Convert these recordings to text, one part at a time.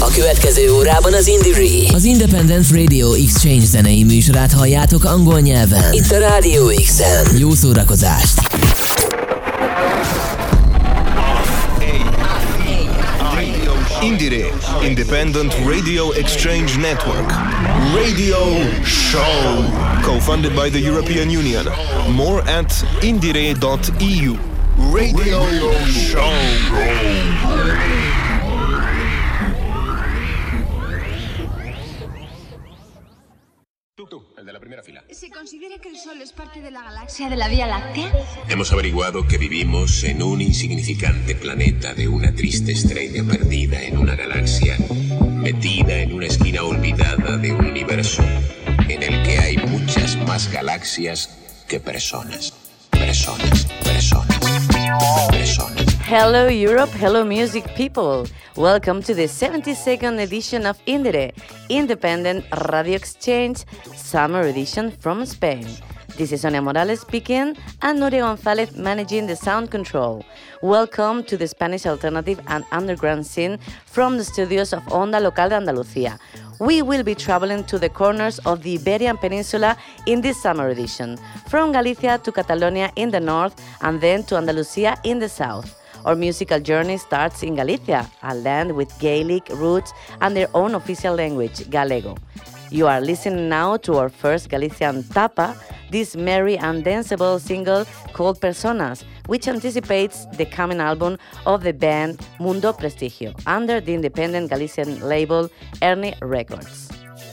A következő órában az Indire, az Independent Radio Exchange zenei műsorát halljátok angol nyelven. Itt a Radio X-en. Jó szórakozást! Indire, Independent Radio Exchange Network. Radio Show. Co-funded by the European Union. More at indire.eu. Radio Show. El de la primera fila. ¿Se considera que el Sol es parte de la galaxia de la Vía Láctea? Hemos averiguado que vivimos en un insignificante planeta de una triste estrella perdida en una galaxia, metida en una esquina olvidada de un universo en el que hay muchas más galaxias que personas. Personas. Hello Europe, hello music people. Welcome to the 72nd edition of Indire, Independent Radio Exchange Summer Edition from Spain. This is Sonia Morales speaking and Nuria González managing the sound control. Welcome to the Spanish alternative and underground scene from the studios of Onda Local de Andalucía. We will be traveling to the corners of the Iberian Peninsula in this summer edition, from Galicia to Catalonia in the north and then to Andalusia in the south. Our musical journey starts in Galicia, a land with Gaelic roots and their own official language, Galego. You are listening now to our first Galician tapa, this merry and danceable single called Personas, which anticipates the coming album of the band Mundo Prestigio, under the independent Galician label Ernie Records.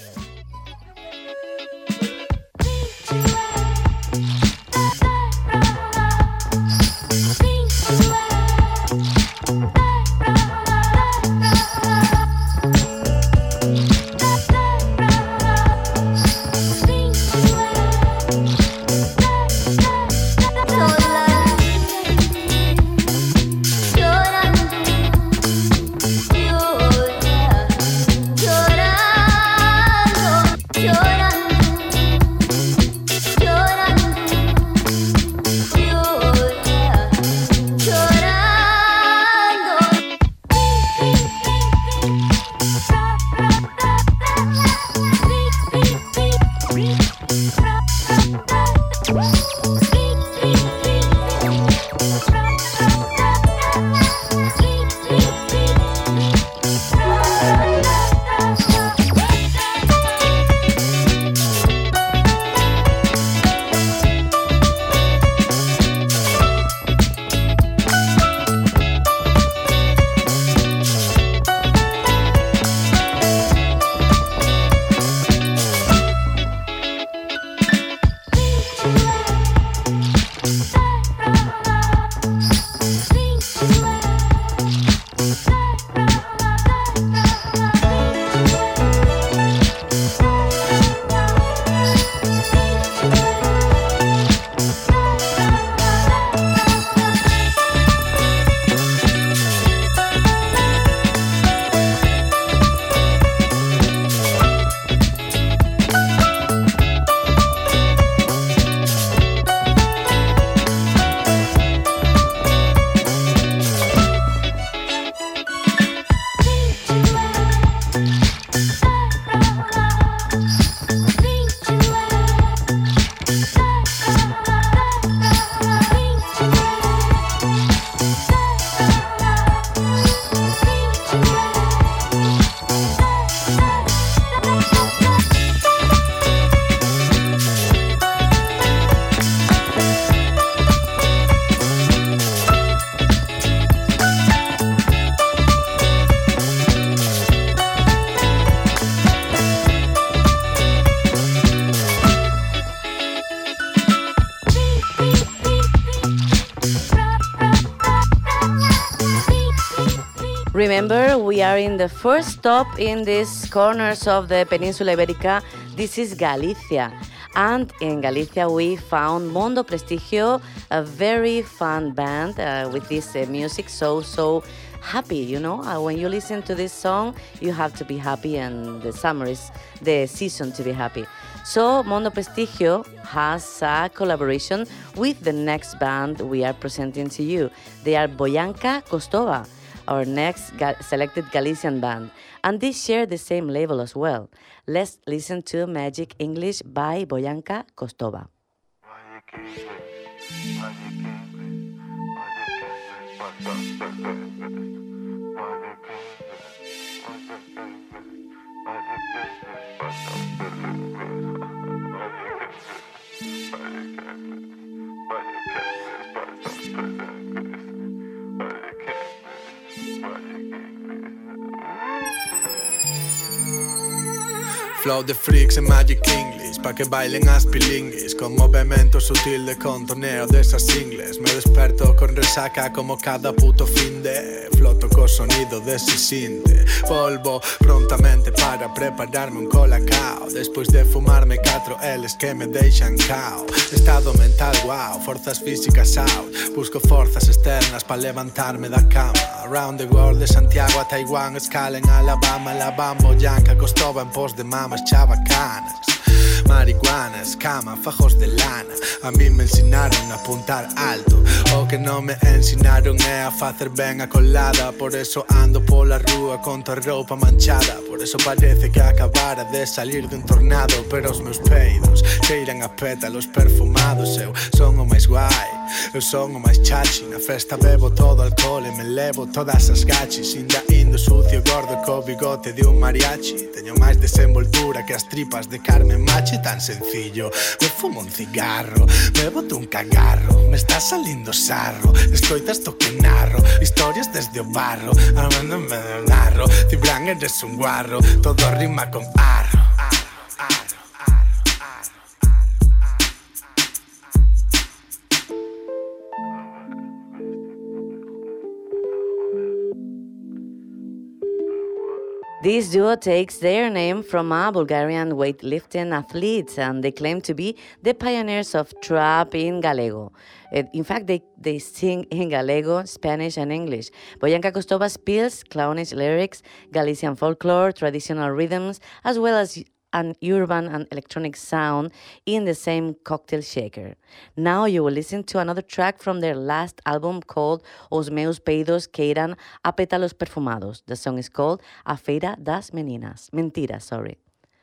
Remember, we are in the first stop in these corners of the Península Ibérica. This is Galicia. And in Galicia, we found Mundo Prestigio, a very fun band with this music, so happy, you know. When you listen to this song, you have to be happy, and the summer is the season to be happy. So Mundo Prestigio has a collaboration with the next band we are presenting to you. They are Boyanka Kostova. our next selected Galician band, and they share the same label as well. Let's listen to Magic English by Boyanka Kostova. Flow de freaks en Magic English, pa' que bailen aspilinguis, con movimiento sutil de contoneo de esas ingles. Me desperto con resaca como cada puto fin de floto co sonido de ese sinte. Volvo prontamente para prepararme un colacao, despois de fumarme 4 L's que me deixan cao. Estado mental wow, forzas físicas out, busco forzas externas pa' levantarme da cama. Around the world de Santiago a Taiwán, escala en Alabama, la bambo yanca Kostova en pos de mamas chavacanas. Marihuanas, cama, fajos de lana. A mí me ensinaron a apuntar alto, o que non me ensinaron é a facer ben a colada. Por eso ando pola rúa con toda roupa manchada. Por eso parece que acabara de salir de un tornado. Pero os meus peidos cheiran a pétalos perfumados. Eu son o máis guai, eu son o máis chachi. Na festa bebo todo alcohol e me levo todas as gachis. Inda indo sucio gordo co bigote de un mariachi. Teño máis desenvoltura que as tripas de Carmen Machi. Tan sencillo, me fumo un cigarro, me boto un cagarro, me está salindo sarro. Escoitas to que narro historias desde o barro, armándome de narro. Cibran eres un guarro, todo rima con arro. This duo takes their name from a Bulgarian weightlifting athlete, and they claim to be the pioneers of trap in Gallego. In fact, they sing in Gallego, Spanish, and English. Boyanka Kostova spills clownish lyrics, Galician folklore, traditional rhythms, as well as an urban and electronic sound in the same cocktail shaker. Now you will listen to another track from their last album called Os Meus Peidos Queiran a Pétalos Perfumados. The song is called A Feira das Mentiras, sorry.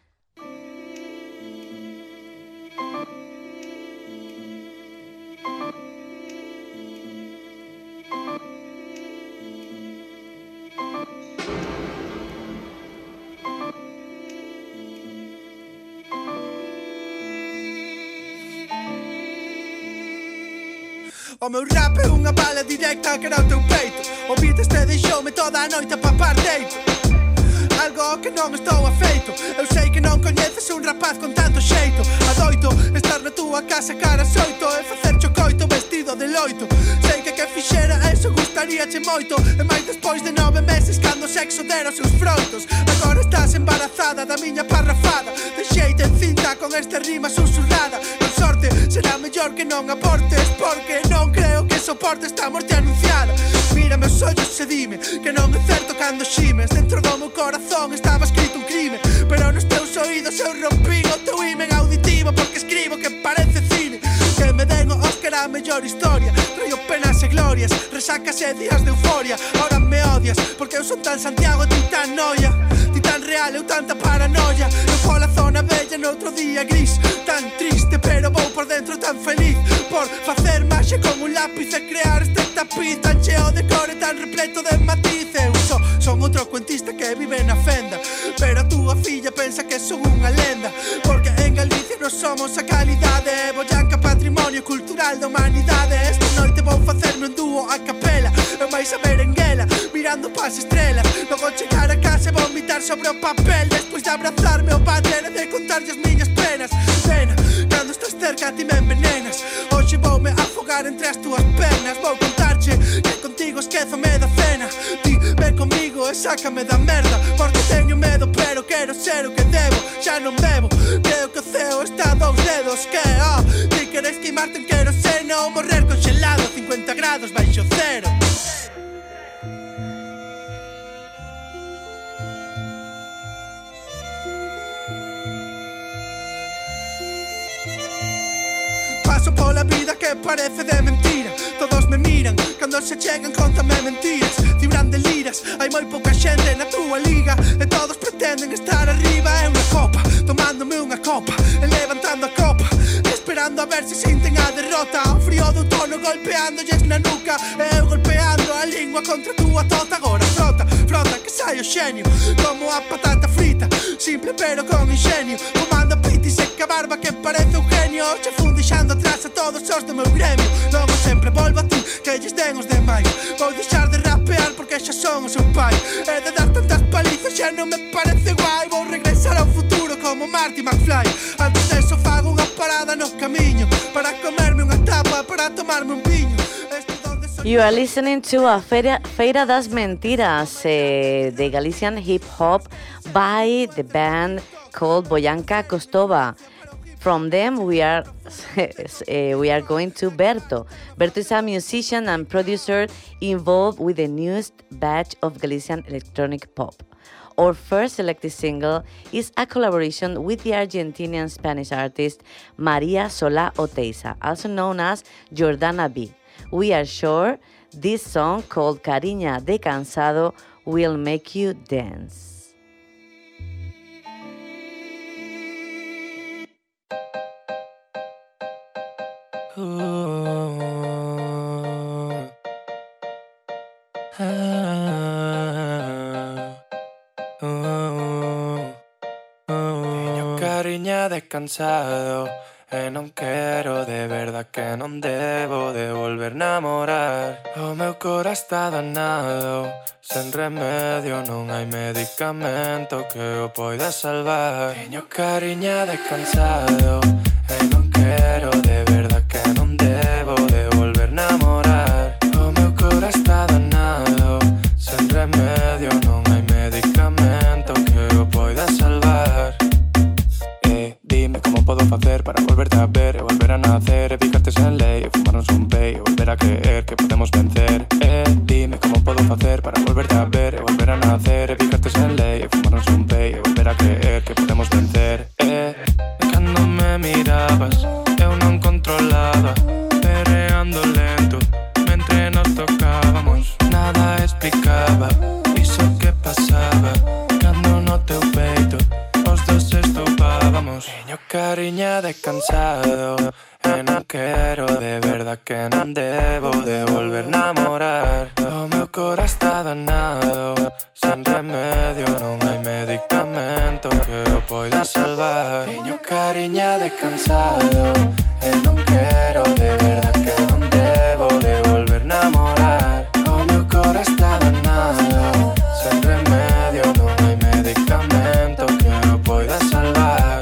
O meu rap é unha bala directa que era o teu peito. O beat este deixoume toda a noite a papar deito. Algo que non estou afeito. Eu sei que non coñeces un rapaz con tanto xeito. Adoito estar na túa casa cara xoito e facer chocoito vestido de loito. Sei que fixera eso gustaríache moito. E máis despois de 9 meses cando o sexo dera os seus froitos. Agora estás embarazada da miña parrafada. Deixeite en cinta con esta rima susurrada. Con sorte será mellor que non aportes, porque non creo que soportes esta morte anunciada. Mírame os ollos e dime que non é certo cando ximes. Dentro do meu corazón estaba escrito un crime, pero nos teus oídos eu rompín o teu imen auditivo, porque escribo que parece cine. Que me den o Óscar a mellor historia. Traio penas e glorias, resacas e días de euforia. Ahora me odias, porque eu son tan Santiago e ti tan noia. Ti tan real, eu tanta paranoia. Eu pola zona bella noutro día gris. Tan triste, pero vou por dentro tan feliz. Por facer maxia con un lápiz e crear este tapiz tan cheo de cor e tan repleto de matiz. Eu son outro cuentista que vive na fenda, pero a túa filla pensa que son unha lenda. Porque en Galicia non somos a calidade. Boyanka patrimonio cultural da humanidade. Esta noite vou facerme un dúo a capela. Eu máis a merenguela, mirando pas estrelas. Logo chegar a casa e vomitar sobre o papel. Despois de abrazarme o padre e de contarlle as miñas penas. Pena, cando estás cerca ti me envenenas. Hoxe voume afogar entre as túas pernas. Vou contarche que contigo esquézome da cena. Ti ven comigo e sácame da merda, porque teño medo pero quero ser o que debo. Xa non bebo, creo que o ceo está a 2 dedos. Que, ti queres queimarte en queroseno ou morrer congelado a 50 grados baixo cero. paso pola vida que parece de mentira. Todos me miran, cando se chegan contame mentiras. Cibran de liras, hai moi pouca xente na túa liga e todos pretenden estar arriba. É unha copa, tomándome unha copa e levantando a copa, esperando a ver se sinten a derrota. O frío do outono golpeándolles na nuca e eu golpeando a lingua contra a túa tota. Agora frota, frota que sai o xenio como a patata frita, simple pero con ingenio. Comando piti seca barba que parece un genio. Che fun deixando atrás a todos os do meu gremio. Logo sempre volvo a ti, que lles den os demais. Vou deixar de rapear porque xa son o seu pai. E de dar tantas palizas xa non me parece guai. Vou regresar ao futuro como Marty McFly. Antes deso fago unha parada no camiño para comerme unha tapa, para tomarme un viño. You are listening to a Feira das Mentiras, the Galician hip hop by the band called Boyanka Kostova. From them, we are going to Berto. Berto is a musician and producer involved with the newest batch of Galician electronic pop. Our first selected single is a collaboration with the Argentinian Spanish artist Maria Solá Oteiza, also known as Jordana B. We are sure this song called Cariña de Cansado will make you dance. Cariña de cansado e non quero, de verdad que non debo de volver namorar. O meu cora está danado, sen remedio, non hai medicamento que o poida salvar. Teño cariña de cansado e non quero, de verdad que non debo de volver namorar. O meu cora está danado, sen remedio, non hai medicamento que o poida salvar. Dime como podo facer para volverte a ver e volver a nacer, e picarte sen lei e fumarnos un pei e volver a creer que podemos vencer. Dime como podo facer para volverte a ver e volver a nacer, e picarte sen lei e fumarnos un pei e volver a creer que podemos vencer. Cando me mirabas eu non controlaba, perreando lento mentre nos tocábamos. Nada explicaba iso que pasaba cando no teu peito os dos estupábamos. Teño cariña de cansado e non quero, de verdad que non debo de volver namorar. O meu cora está danado, sen remedio, non hai medicamento que o poida salvar. Teño cariña de cansado e non quero, de verdad que non debo de volver namorar. O meu cora está danado, sen remedio, non hai medicamento que o poida salvar.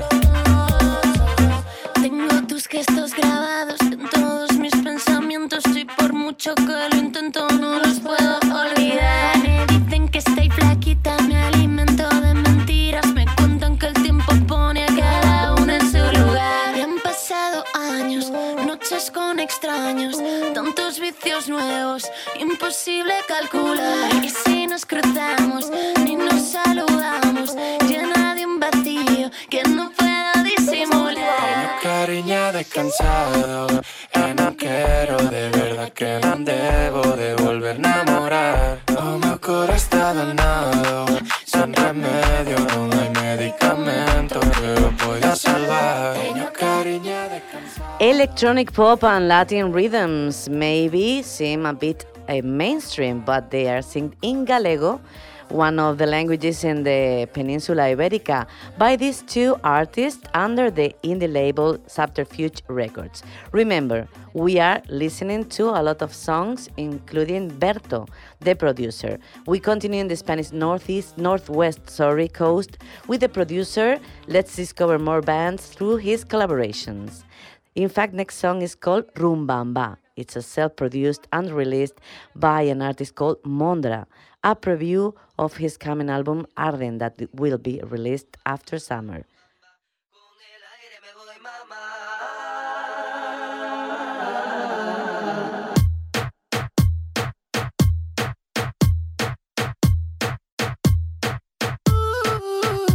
Tengo tus gestos grabados en todos mis pensamientos y por mucho que lo intento no los puedo olvidar. Me dicen que estoy flaquita, me alimento de mentiras, me cuentan que el tiempo pone a cada uno en su lugar. Y han pasado años, noches con extraños, tantos vicios nuevos, imposible calcular. Y si nos cruzamos ni nos saludamos, llena de un vacío que no puedo disimular. Teño cariña de cansado e non quero, de verdad que non debo de volver namorar. O meu cora está danado, sen remedio, non hai medicamento que o poida salvar. Teño cariña de cansado. Electronic pop and Latin rhythms maybe seem a bit mainstream, but they are sung in Galego, one of the languages in the Península Ibérica, by these two artists under the indie label Subterfuge Records. Remember, we are listening to a lot of songs, including Berto, the producer. We continue in the Spanish northwest coast with the producer. Let's discover more bands through his collaborations. In fact, next song is called Rumbamba. It's a self-produced and released by an artist called Mondra, a preview of his coming album Arden that will be released after summer.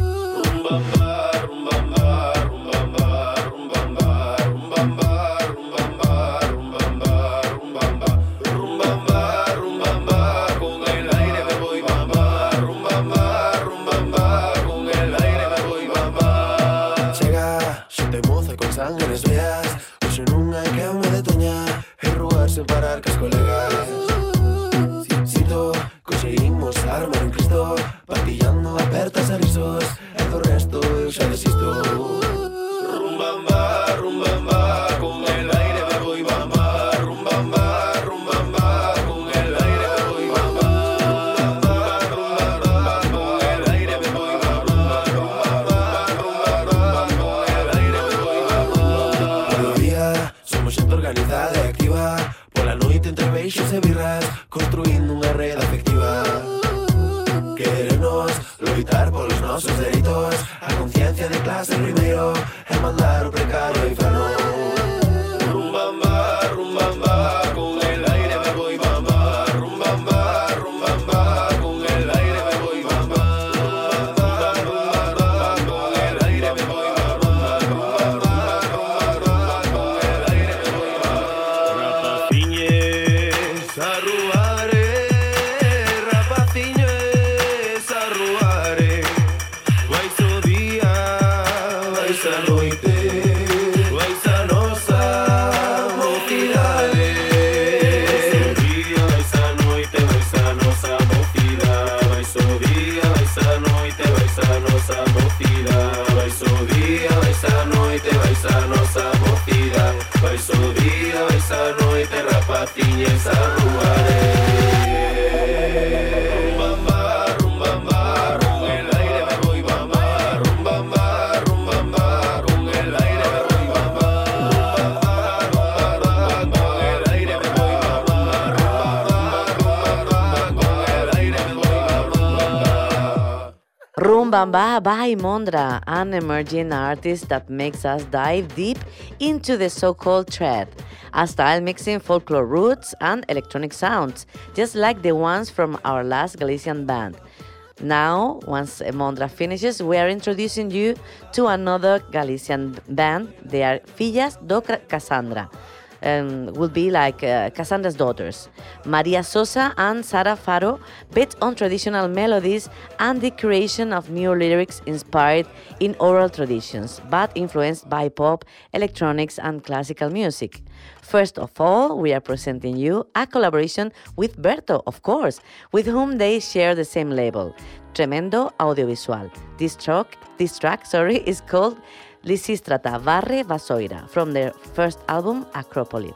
Rumbamba, rumbamba, rumbamba, rumbamba, rumbamba. buenas vías. Hoxe non hai que me detoñar e rogarse para arcas colegas. Sinto, conseguimos armar un Cristo, patillando apertas a risos, e do resto eu xa desisto. Rumbamba, rumbamba, con el aire me voy bamba. Rumbamba, rumbamba, con el aire me voy bamba. Rumbamba, con el aire me voy bamba. Rumbamba, con el aire me voy bamba. Por día somos xente organizada e activa, pola noite entre beixos e birras, construindo unha rede afectiva. Querernos loitar polos nosos dereitos, a conciencia de clase primeiro e mandar o precario ao inferno. Rumbamba, rumbamba, con el aire me voy bamba. Rumbamba, rumbamba, con el aire me voy bamba. Rumbamba, con el aire me voy bamba. Rumbamba, con el aire me voy bamba. Rapaciñes a ruare, rapaciñes a ruare. Vais o día, vais a noite, vais a nosa mocidade. Vais o día, vais a noite, vais a nosa mocidade. Vais o día, vais a noite, vais a nosa mocidade. Vais o día, vais a noite, vais a nosa mocidade. Vais o día, vais a noite, rapaciñes a ruare. Rumbamba, rumbamba, con el aire me voy bamba. Rumbamba, rumbamba, con el aire me voy bamba. Rumbamba, con el aire me voy bamba. Rumbamba, con el aire me voy bamba. Rumbamba by Mondra, an emerging artist that makes us dive deep into the so-called trad, a style mixing folklore roots and electronic sounds, just like the ones from our last Galician band. Now, once Mondra finishes, we are introducing you to another Galician band. They are Fillas do Cassandra. Will be like Cassandra's daughters. Maria Sosa and Sara Faro bet on traditional melodies and the creation of new lyrics inspired in oral traditions, but influenced by pop, electronics, and classical music. First of all, we are presenting you a collaboration with Berto, of course, with whom they share the same label, Tremendo Audiovisual. This track is called Lisístrata Barre Vasoira, from their first album, Acrópoli.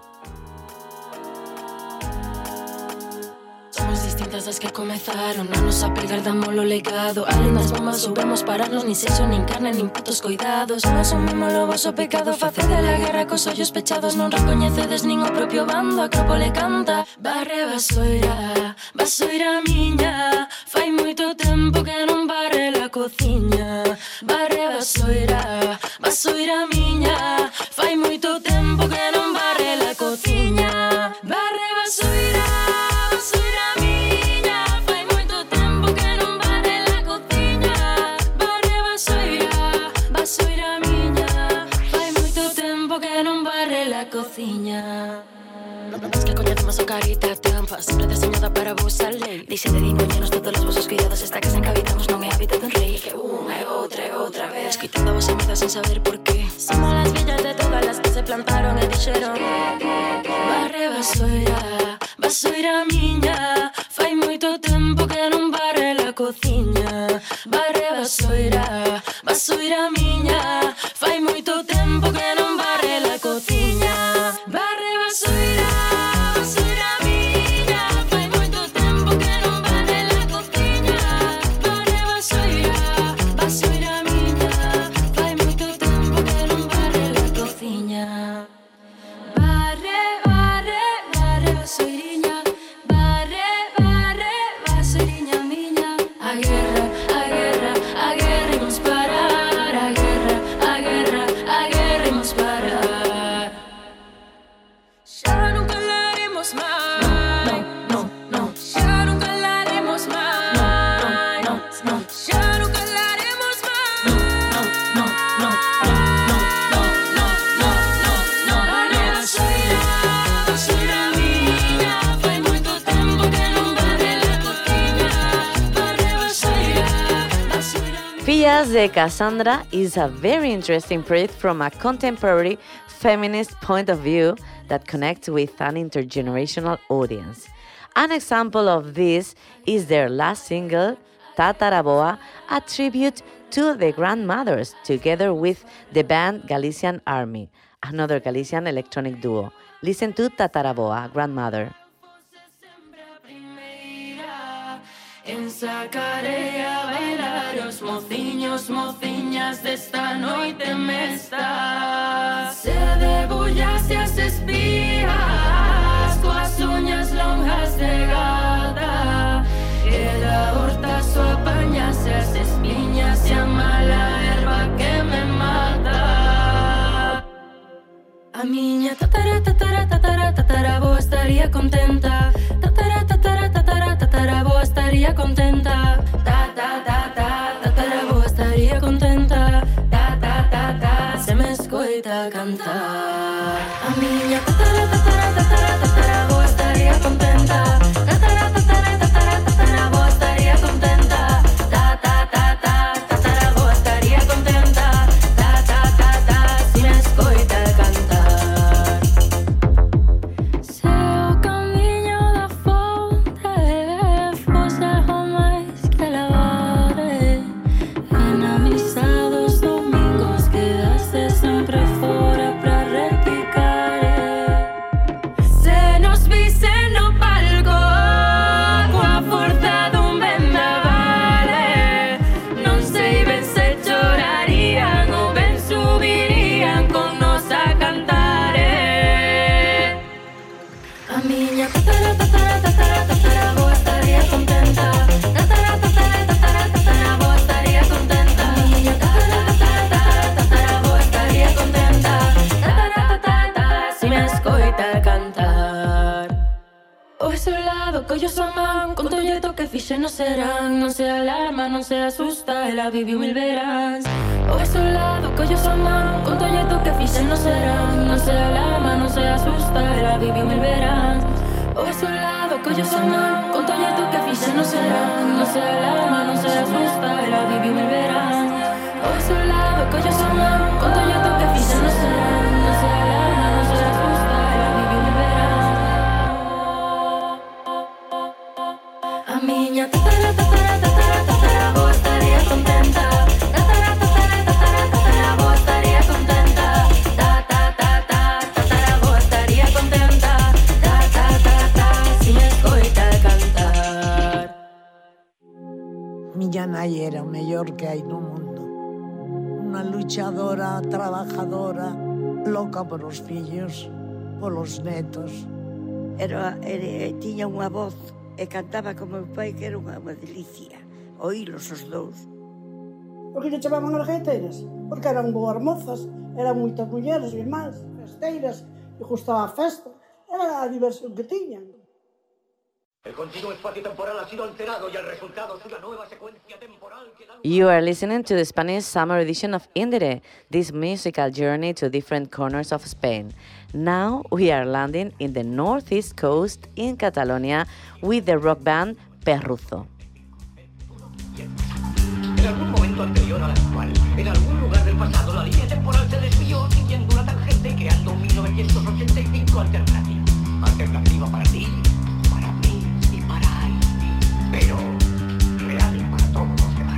Somos distintas das que comezaron, non nos apegar damos lo legado. Alén das bombas soubemos pararnos, nin sexo, nin carne, nin putos coidados. Non asumimos o voso pecado, facede a guerra cos ollos pechados. Non recoñecedes nin o propio bando, Acrópole canta. Barre Vasoira, Vasoira miña, fai moito tempo que non barre la cociña. Barre Vasoira, Vasoira miña, fai moito tempo que non barre la cociña. Barre Vasoira, Vasoira miña, fai moito tempo que non barre la cociña. Barre Vasoira, Vasoira miña, fai moito tempo que non barre la cociña. Es que coñecemos o carita tempa, sempre deseñada para vos a lei. Dixe de dingoñenos todos os vosos cuidados, esta casa en que habitamos non é hábitat dun rei. Que unha e outra vez, escoitando a vosa meta sin saber por qué. Somos las villas de todas las que se plantaron e dixeron Barre Vasoira, Vasoira miña, fai moito tempo que non barre la cociña. Barre Vasoira, Vasoira miña, fai moito tempo que non barre la cociña. Barre Vasoira, Vasoira miña, fai moito tempo que non barre la cociña. Barre Vasoira, Vasoira miña, fai moito tempo que non barre la cociña. Barre, barre, barre Vasoiriña, barre, barre, Vasoiriña miña. A guerra, a guerra, a guerra imos parar. A guerra, a guerra, a guerra imos parar. Xa non calaremos máis. No, no, no. Xa non calaremos máis. No, no, no. Xa non calaremos máis. No, no, no, no, no, no, no, no, no, no. Barre Vasoira, Vasoira miña, fai moito tempo que non barre la cociña. Barre Vasoira, Vasoira miña. Fillas de Cassandra is a very interesting project from a contemporary feminist point of view that connects with an intergenerational audience. An example of this is their last single, Tataraboa, a tribute to the grandmothers, together with the band Galician Army, another Galician electronic duo. Listen to Tataraboa, Grandmother. Ensacarei a bailar os mociños, mociñas desta noite mesta. Se debullase as espías, coas uñas longas de gata, e da horta só apañase as espiñas e a mala erva que me mata. A miña tataraboa estaría contenta. Tataraboa estaría contenta. Tataraboa estaría contenta. Se me escoita cantar. A miña tataraboa estaría contenta. Tataraboa estaría contenta. Tataraboa estaría contenta. Se me escoita cantar. Non serán, non se alarma, non se asusta, ela viviu mil veráns. O é solado, collo son man, con tolleto que fixen non serán, non se alarma, non se asusta, ela viviu mil veráns. O é solado, collo son man, con tolleto que fixen non serán, non se alarma, non se asusta, ela viviu mil veráns. O é solado, collo son man, con tolleto que fixen non serán, non se alarma, non se asusta, ela viviu mil veráns. A miña tataraboa estaría contenta. Tataraboa estaría contenta. Tataraboa estaría contenta. Si me escoita cantar. Miña nai era o mellor que hai no mundo. Unha luchadora, trabajadora, loca por os fillos, polos netos. Tiña unha voz e cantaba como meu pai, que era unha delicia oílos os dous. Por que lle chamaban as gaiteiras? Porque eran boas mozas, eran moitas mulleres e máis, festeiras, e gustaba a festa, era a diversión que tiñan. El continuo espacio temporal ha sido alterado y el resultado es una nueva secuencia temporal que da... You are listening to the Spanish summer edition of Indire, this musical journey to different corners of Spain. Now we are landing in the northeast coast in Catalonia with the rock band Perruzo. En algún momento anterior al actual, en algún lugar del pasado, la línea temporal se desvió siguiendo una tangente creando 1985 alternativa. Alternativa para ti, para mí y para él. Pero real para todos los demás.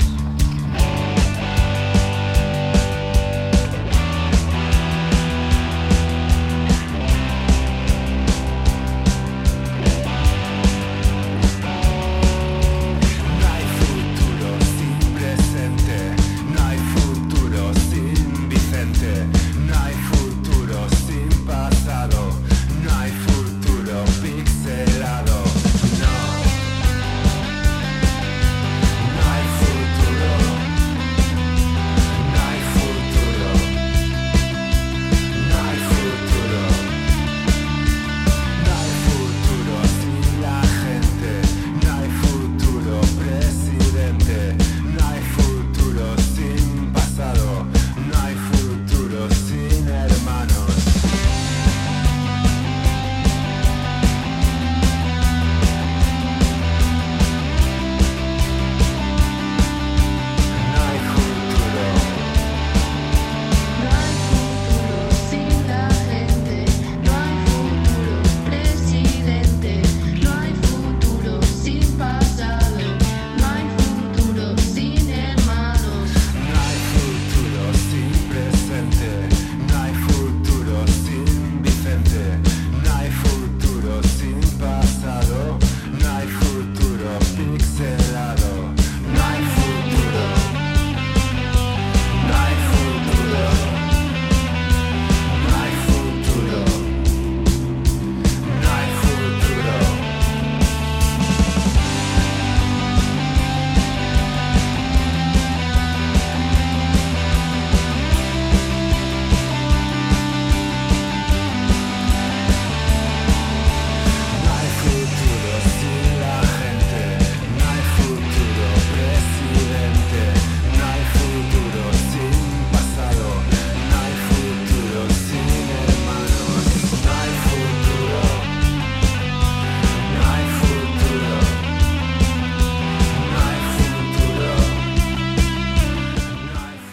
No hay futuro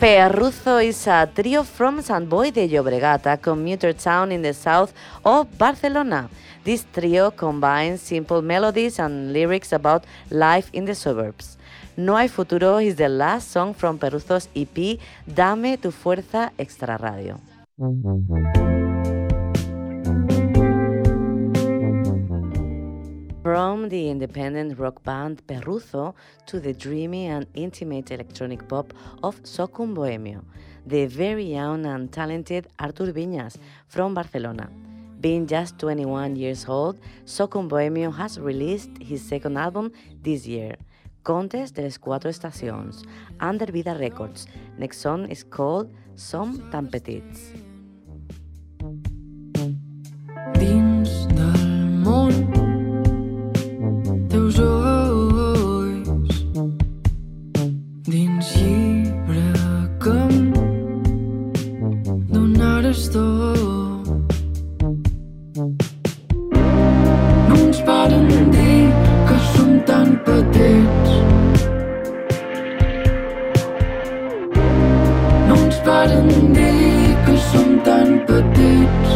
Perruzo is a trio from Sant Boi de Llobregat, a commuter town in the south of Barcelona. This trio combines simple melodies and lyrics about life in the suburbs. No hay futuro is the last song from Perruzo's EP, Dame tu fuerza extra radio. From the independent rock band Perruzo to the dreamy and intimate electronic pop of Socum Bohemio, the very young and talented Artur Viñas from Barcelona. Being just 21 years old, Socum Bohemio has released his second album this year, Contes de les Quatre Estacions, under Vida Records. Next song is called Som tan petits. Dins del món teus ulls, dins llibre que em donaràs tot. No ens paren dir que som tan petits, no ens paren dir que som tan petits.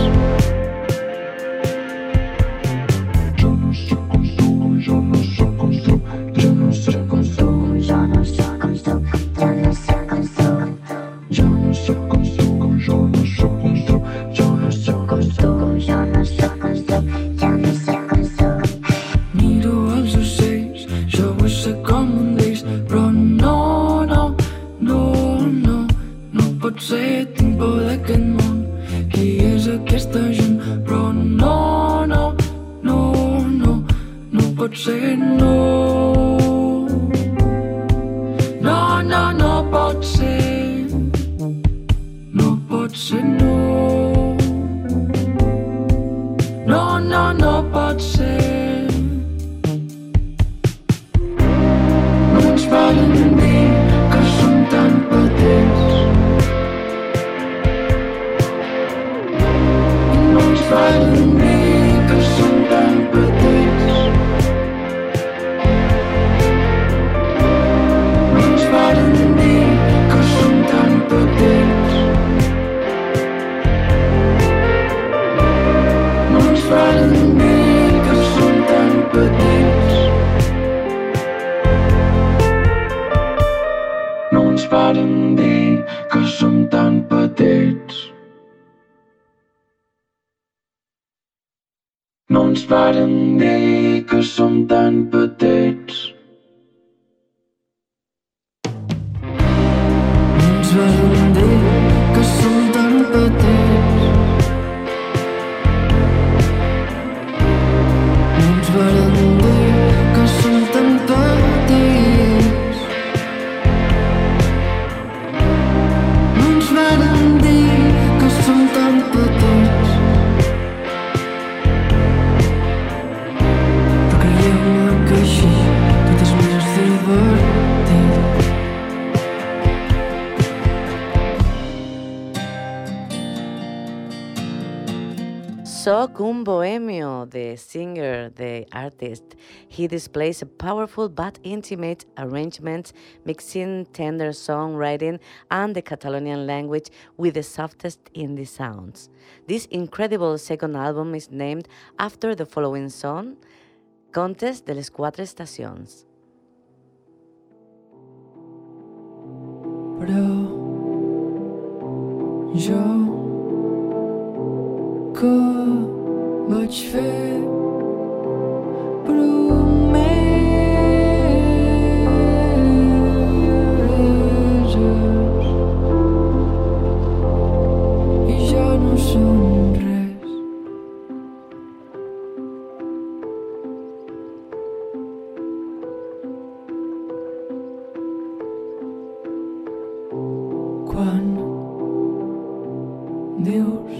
Socum Bohemio, the singer, the artist, he displays a powerful but intimate arrangement, mixing tender songwriting and the Catalonian language with the softest indie sounds. This incredible second album is named after the following song, Contes de les Quatre Estacions. Però jo que vaig fer promeses i ja no són res. Quan dius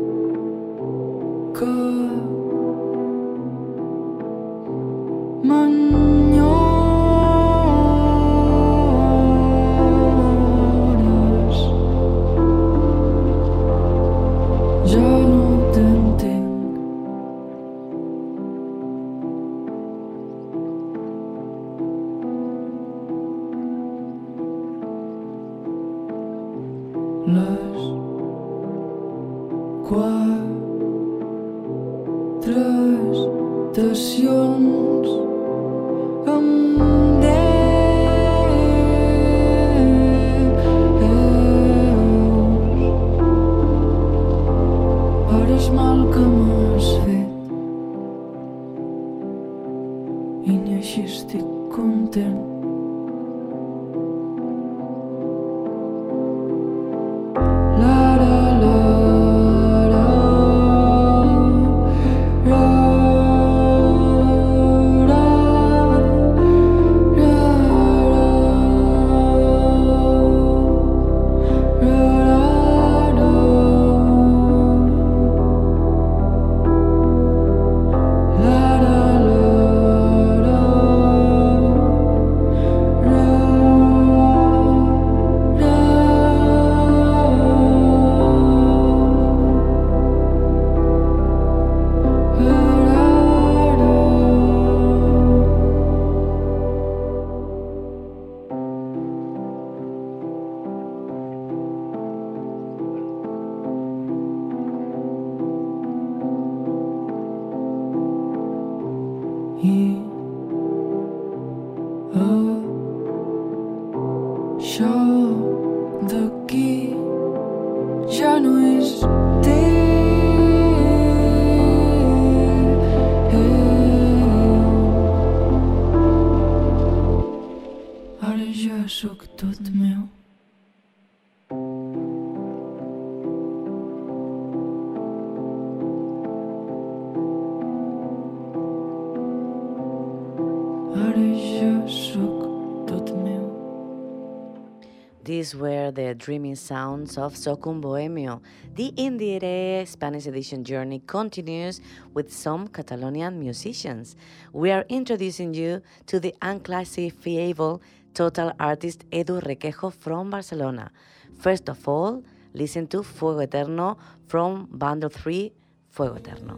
que m'enyores, ja no t'entenc. les 4 estacions amb per el mal que m'has fet i ni així estic content. Això d'aquí ja no és ara ja sóc tot meu. Ara ja sóc tot meu. These were the dreaming sounds of Socum Bohemio. The Indire Spanish edition journey continues with some Catalonian musicians. We are introducing you to the unclassifiable total artist Edu Requejo from Barcelona. First of all, listen to Fuego Eterno from Bundle 3, Fuego Eterno.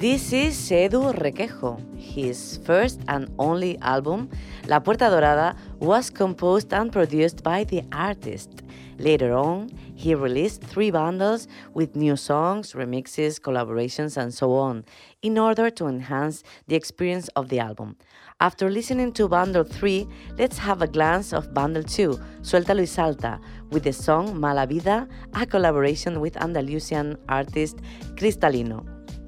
This is Edu Requejo. His first and only album, La Puerta Dorada, was composed and produced by the artist. Later on, he released 3 bundles with new songs, remixes, collaborations, and so on, in order to enhance the experience of the album. After listening to Bundle 3, let's have a glance of Bundle 2, Suéltalo y Salta, with the song Mala Vida, a collaboration with Andalusian artist Cristalino.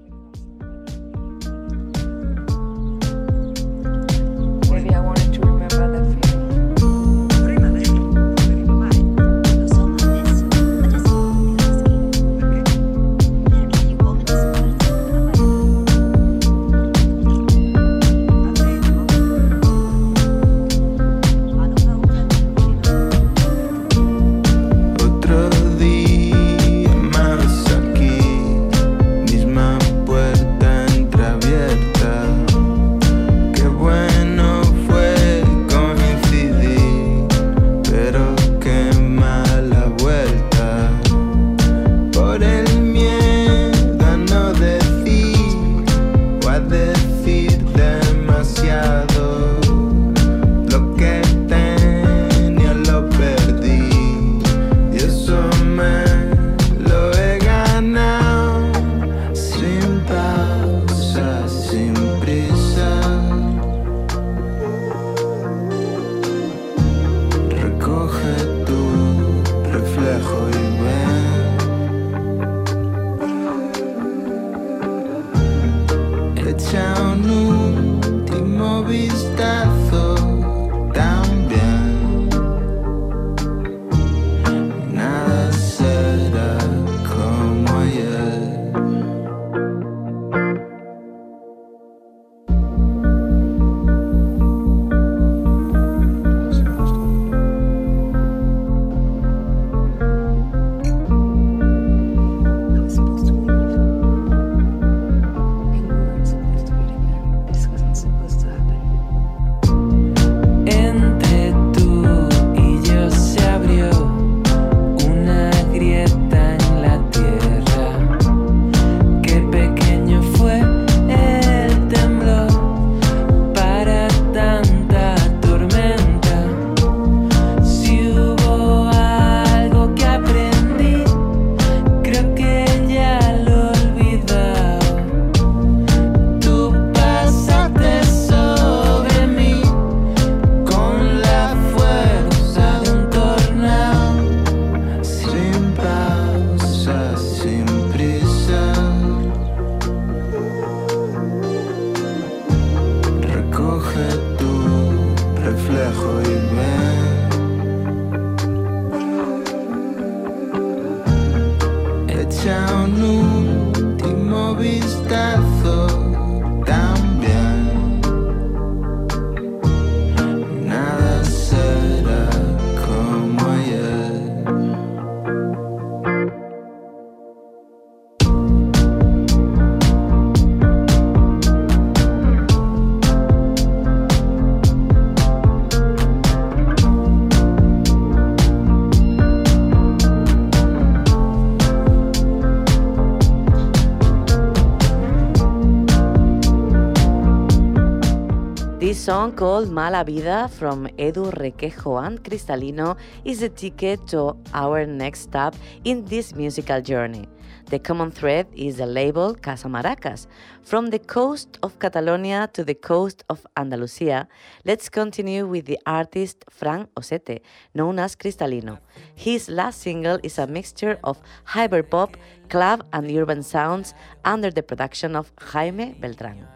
Song called Mala Vida from Edu Requejo and Cristalino is the ticket to our next stop in this musical journey. The common thread is the label Casa Maracas. From the coast of Catalonia to the coast of Andalusia, let's continue with the artist Fran Osete, known as Cristalino. His last single is a mixture of hyperpop, club and urban sounds under the production of Jaime Beltrán.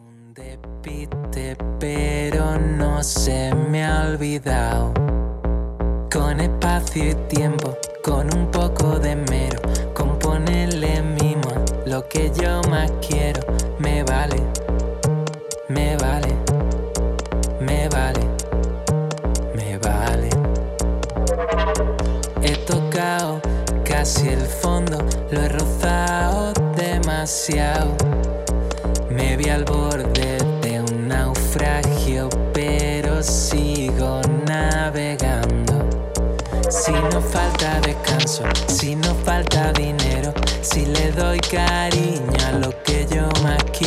Pero no se me ha olvidado. Con espacio y tiempo, con un poco de mero, con ponerle mimo a lo que yo más quiero. Me vale, me vale, me vale, me vale. He tocado casi el fondo, lo he rozado demasiado. Me vi al borde de un naufragio, pero sigo navegando. Si no falta descanso, si no falta dinero, si le doy cariño a lo que yo más quiero.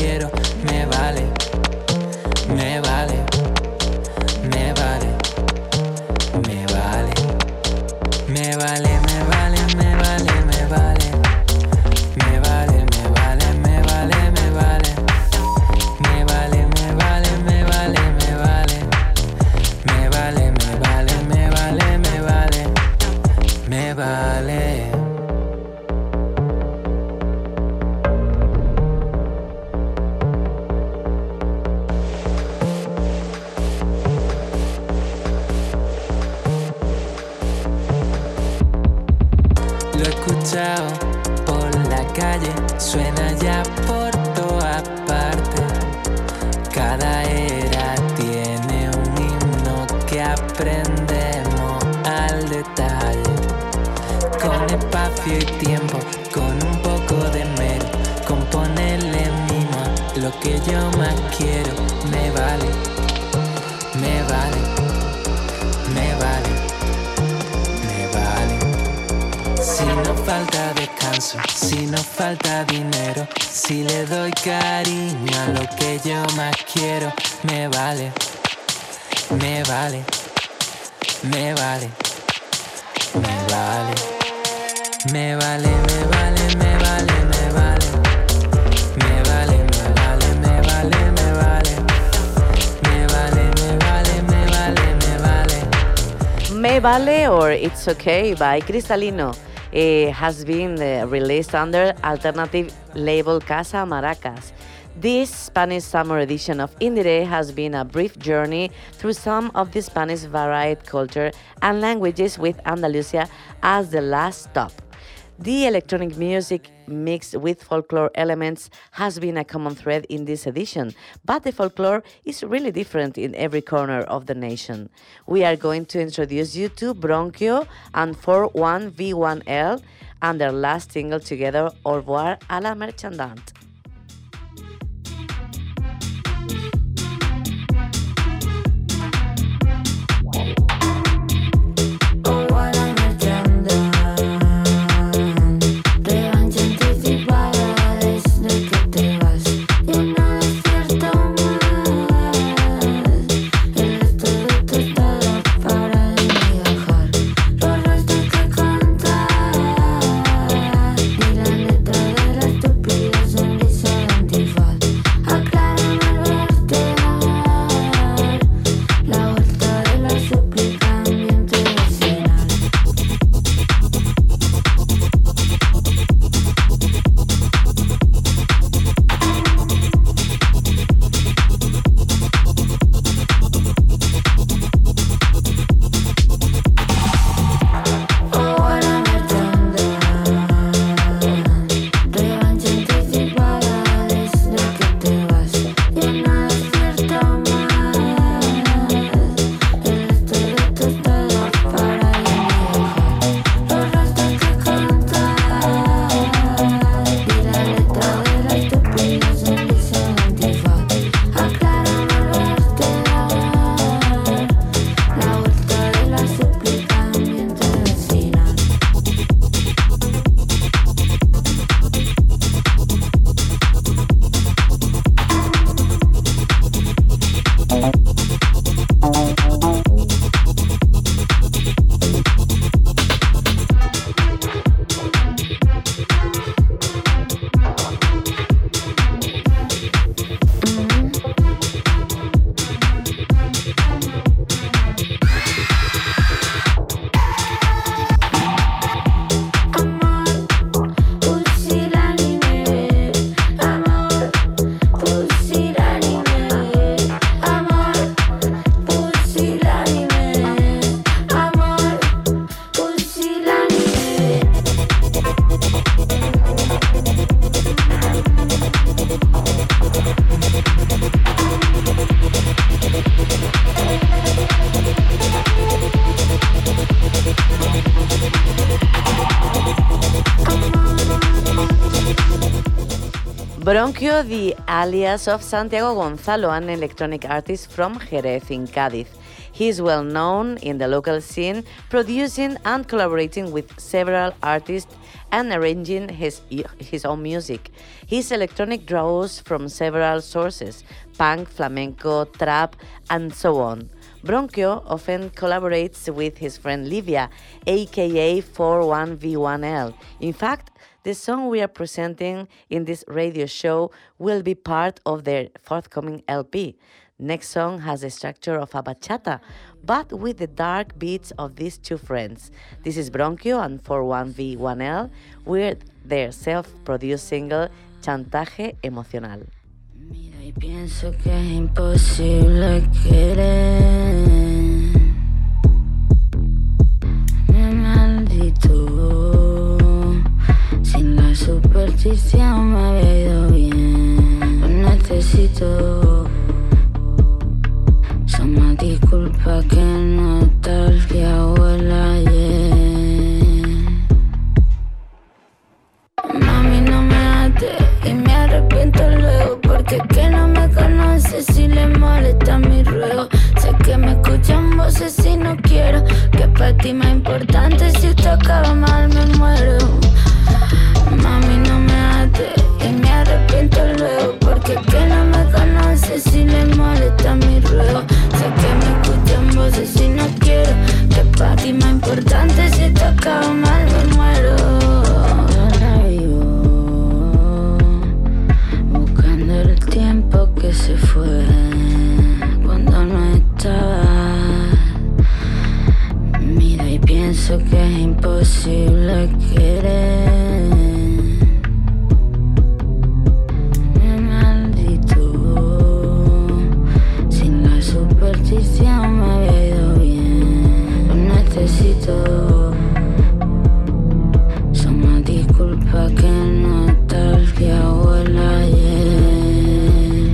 Lo he escuchado por la calle, suena ya por todas partes. Cada era tiene un himno que aprendemos al detalle. Con espacio y tiempo, con un poco de mero, con ponerle mimo a lo que yo más quiero. Me vale, me vale, me vale, me vale. Si nos falta descanso, si nos falta dinero, si le doy cariño a lo que yo más quiero, me vale, me vale, me vale, me vale, me vale, me vale, me vale, me vale, me vale, me vale, me vale, me vale, me vale, me vale, me vale, me vale. Me Vale or It's Okay by Cristalino has been released under alternative label Casa Maracas. This Spanish summer edition of Indire has been a brief journey through some of the Spanish varied culture and languages with Andalusia as the last stop. The electronic music mixed with folklore elements has been a common thread in this edition, but the folklore is really different in every corner of the nation. We are going to introduce you to Bronquio and 41V1L and their last single together, Au revoir à la Marchandante. Bronquio, the alias of Santiago Gonzalo, an electronic artist from Jerez in Cádiz. He is well known in the local scene, producing and collaborating with several artists and arranging his own music. His electronic draws from several sources: punk, flamenco, trap, and so on. Bronquio often collaborates with his friend Livia, aka 41V1L. In fact, the song we are presenting in this radio show will be part of their forthcoming LP. Next song has the structure of a bachata, but with the dark beats of these two friends. This is Bronquio and 41V1L with their self-produced single Chantaje Emocional. Mira y pienso que es imposible querer. Maldito. superstición me había ido bien. Lo necesito. Suma disculpa que nostalgia huela ayer. Mami, no me ates y me arrepiento luego, porque es que no me conoces si le molesta mi ruego. Sé que me escuchan voces y no quiero que para ti más importante, si esto acaba mal me muero. Mami, no me ates y me arrepiento luego, porque es que no me conoces si le molesta mi ruego. Sé que me escuchan voces y no quiero que para ti más importante, si esto acaba mal me muero. Ahora vivo buscando el tiempo que se fue cuando no estabas. Miro y pienso que es imposible querer. Superstición me había ido bien. Lo necesito. Suma disculpa que nostalgia huela ayer.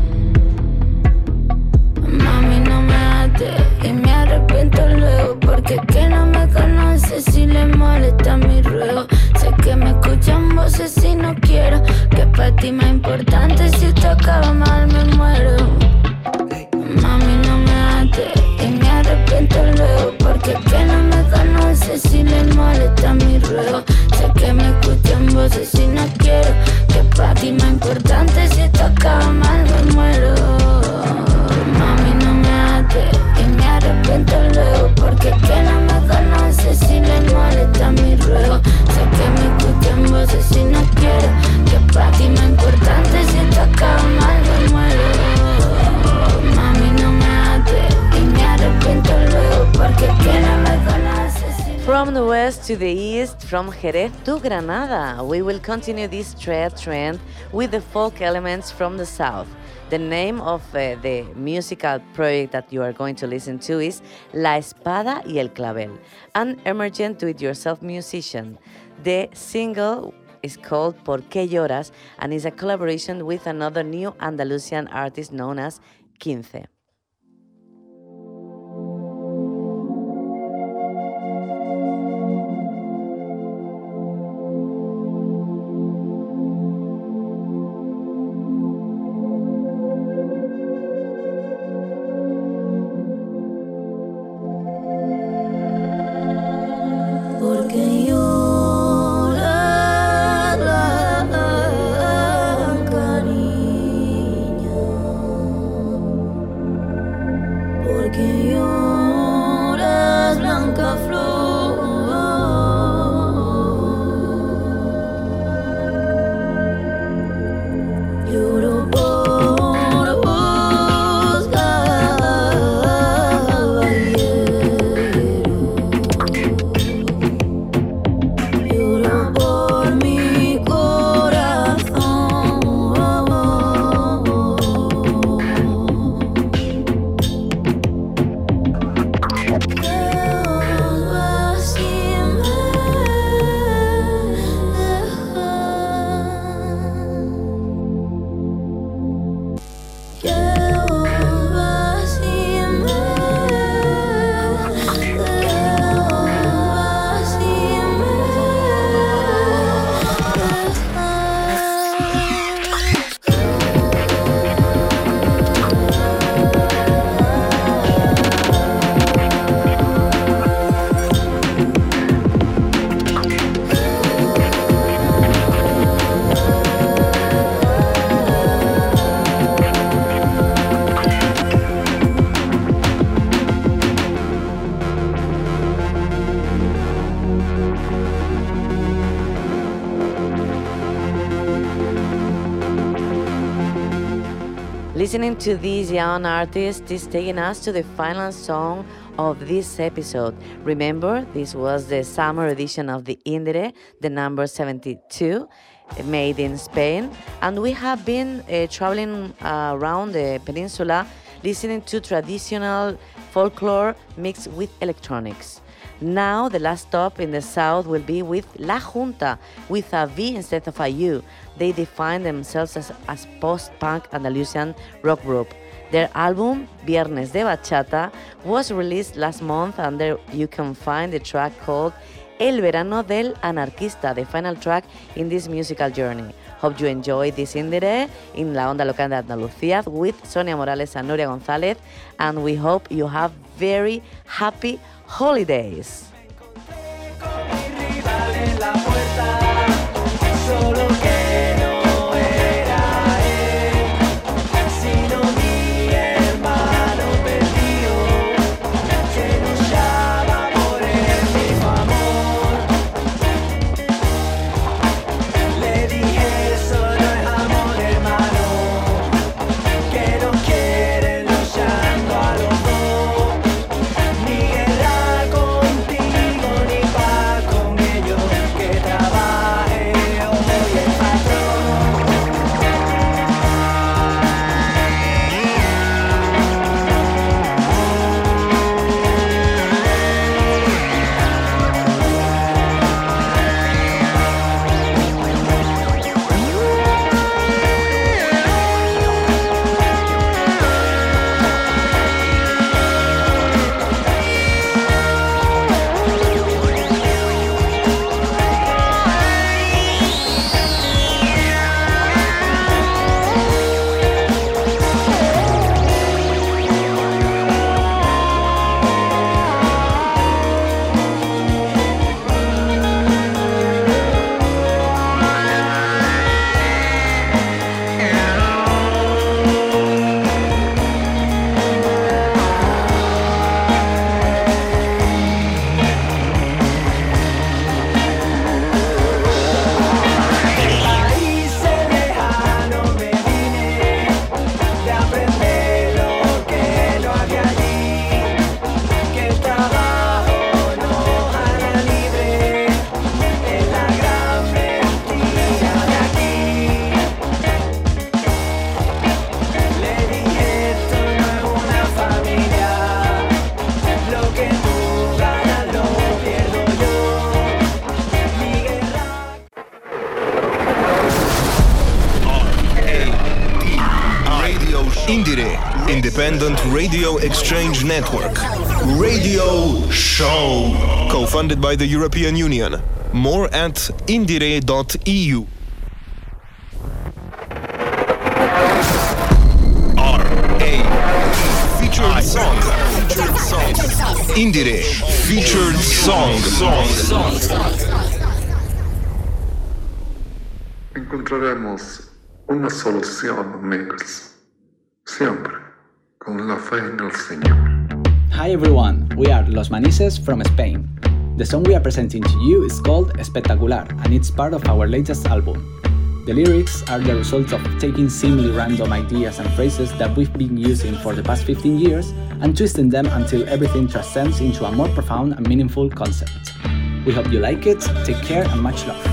Mami, no me ates y me arrepiento luego, porque es que no me conoces si le molesta mi ruego. Sé que me escuchan voces y no quiero que para ti más importante, si esto acaba mal me muero. Mami, no me ates y me arrepiento luego, porque es que no me conoces si le molesta mi ruego. Sé que me escuchan voces y no quiero que para ti más importante, si esto acaba mal me muero. Mami, no me ates y me arrepiento luego, porque es que no me conoces si le molesta mi ruego. Sé que me escuchan voces y no quiero que para ti más importante, si esto acaba mal me muero. From the west to the east, from Jerez to Granada, we will continue this trend with the folk elements from the south. The name of the musical project that you are going to listen to is La Espada y el Clavel, an emergent do-it-yourself musician. The single is called ¿Por qué lloras? And is a collaboration with another new Andalusian artist known as Quince. Listening to this young artist is taking us to the final song of this episode. Remember, this was the summer edition of the Indire, the number 72, made in Spain. And we have been traveling around the peninsula, listening to traditional folklore mixed with electronics. Now the last stop in the south will be with La Junta, with a V instead of a U. They define themselves as post-punk Andalusian rock group. Their album, Viernes de Bachata, was released last month, and there you can find the track called El Verano del Anarquista, the final track in this musical journey. Hope you enjoy this Indire in La Onda Local de Andalucía with Sonia Morales and Nuria González, and we hope you have very happy holidays. Independent Radio Exchange Network. Radio Show. Co-funded by the European Union. More at indire.eu. Featured song. Indire. Featured song. Encontraremos una solución, amigos. Siempre con la fe en el Señor. Hi everyone, we are Los Manises from Spain. The song we are presenting to you is called Espectacular, and it's part of our latest album. The lyrics are the result of taking seemingly random ideas and phrases that we've been using for the past 15 years and twisting them until everything transcends into a more profound and meaningful concept. We hope you like it, take care and much love.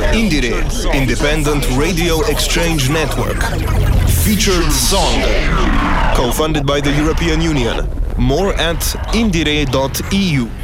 Indire, Independent Radio Exchange Network. Featured song. Co-funded by the European Union. More at indire.eu.